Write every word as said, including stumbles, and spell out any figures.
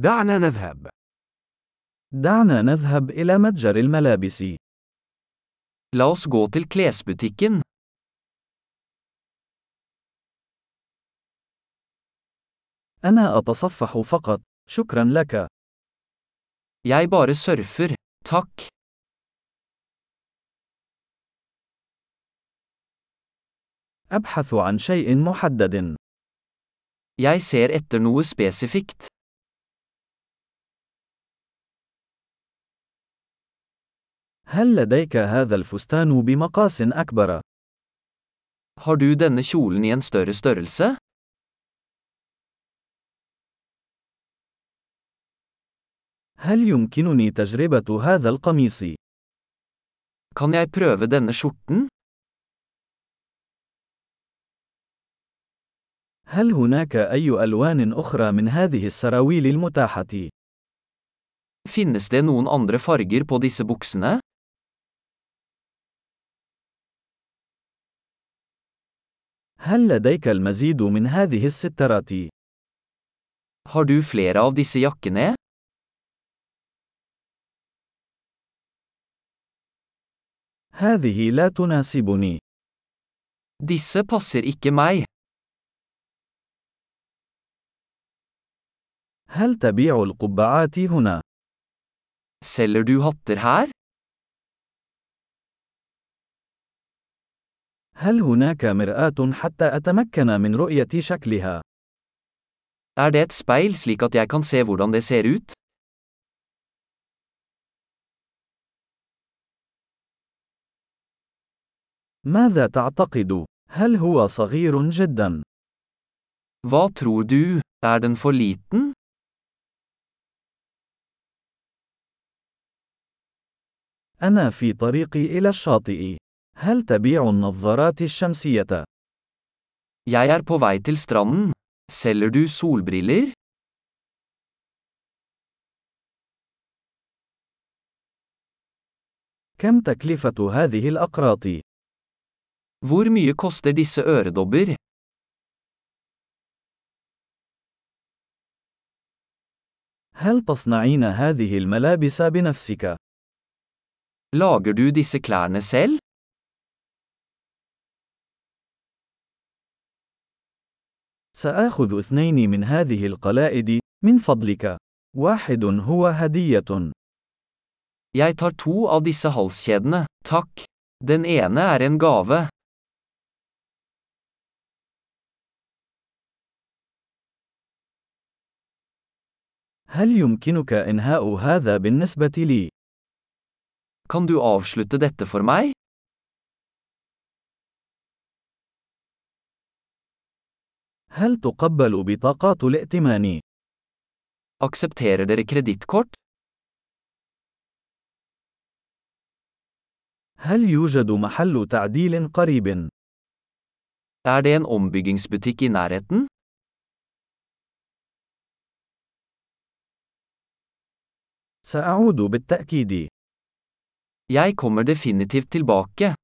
دعنا نذهب. دعنا نذهب إلى متجر الملابس. La oss gå til klesbutikken. أنا أتصفح فقط، شكرا لك. Jeg bare surfer, takk. أبحث عن شيء محدد. Jeg ser etter noe spesifikt. هل لديك هذا الفستان بمقاس أكبر؟ Har du denne kjolen i en større størrelse? هل يمكنني تجربة هذا القميص؟ Kan jeg prøve denne skjorten? هل هناك أي ألوان أخرى من هذه السراويل المتاحة؟ Finnes det noen andre farger på disse buksene? هل لديك المزيد من هذه السترات؟ Har du flere av disse jakkene? هذه لا تناسبني. Disse passer ikke meg. هل تبيع القبعات هنا؟ Selger du hatter her? هل هناك مرآة حتى أتمكن من رؤية شكلها؟ Er det et speil slik at jeg kan se hvordan det ser ut? ماذا تعتقد؟ هل هو صغير جدا؟ Hva tror du? Er den for liten? أنا في طريقي إلى الشاطئ. هل تبيع النظارات الشمسية؟ Jeg er på vei til stranden. Selger du solbriller? كم تكلفة هذه الأقراط؟ Hvor mye koster disse øredobber? هل تصنعين هذه الملابس بنفسك؟ Lager du disse klærne selv? سآخذ اثنين من هذه القلائد، من فضلك. واحد هو هدية. Jeg tar to av disse halskjedene, takk. Den ene er en gave. هل يمكنك إنهاء هذا بالنسبة لي؟ Kan du avslutte dette for meg? هل تقبل بطاقات الائتمان؟ Aksepterer dere kredittkort? هل يوجد محل تعديل قريب؟ Er det en ombyggingsbutikk i nærheten? سأعود بالتأكيد. Jeg kommer definitivt tilbake.